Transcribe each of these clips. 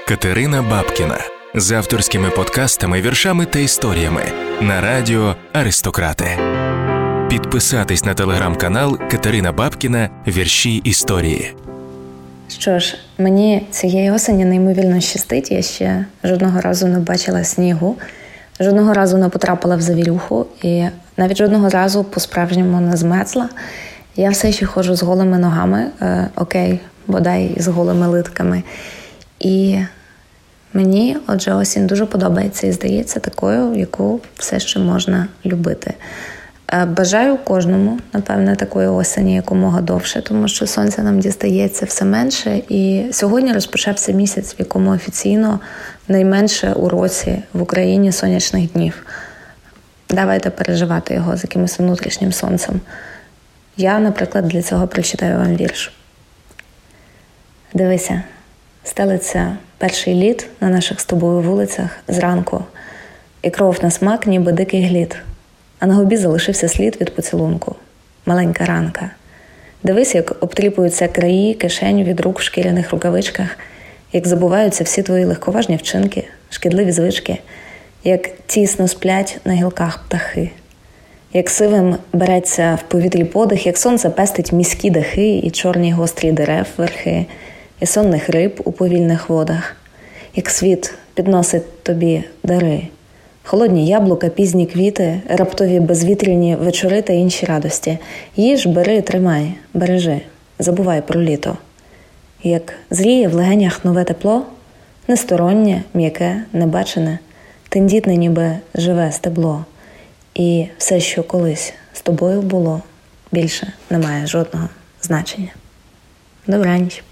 Катерина Бабкіна з авторськими подкастами, віршами та історіями на радіо «Аристократи». Підписатись на телеграм-канал Катерина Бабкіна «Вірші історії». Що ж, мені цієї осені неймовірно щастить. Я ще жодного разу не бачила снігу, жодного разу не потрапила в завірюху і навіть жодного разу по-справжньому не змерзла. Я все ще ходжу з голими ногами, бодай з голими литками. І мені, отже, осінь дуже подобається і здається такою, яку все ще можна любити. Бажаю кожному, напевне, такої осені якомога довше, тому що сонця нам дістається все менше. І сьогодні розпочався місяць, в якому офіційно найменше у році в Україні сонячних днів. Давайте переживати його з якимось внутрішнім сонцем. Я, наприклад, для цього прочитаю вам вірш. Дивися, стелиться перший лід на наших з тобою вулицях зранку, і кров на смак, ніби дикий глід. А на губі залишився слід від поцілунку. Маленька ранка. Дивись, як обтріпуються краї кишень від рук в шкіряних рукавичках, як забуваються всі твої легковажні вчинки, шкідливі звички, як тісно сплять на гілках птахи, як сивим береться в повітрі подих, як сонце пестить міські дахи і чорні гострі дерев верхи, і сонних риб у повільних водах, як світ підносить тобі дари. Холодні яблука, пізні квіти, раптові безвітряні вечори та інші радості. Їж, бери, тримай, бережи, забувай про літо. Як зріє в легенях нове тепло, нестороннє, м'яке, небачене, тендітне ніби живе стебло. І все, що колись з тобою було, більше не має жодного значення. Добраніч.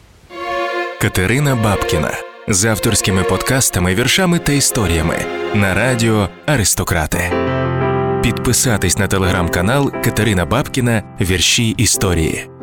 Катерина Бабкіна з авторськими подкастами, віршами та історіями на радіо «Аристократи». Підписатись на телеграм-канал Катерина Бабкіна «Вірші історії».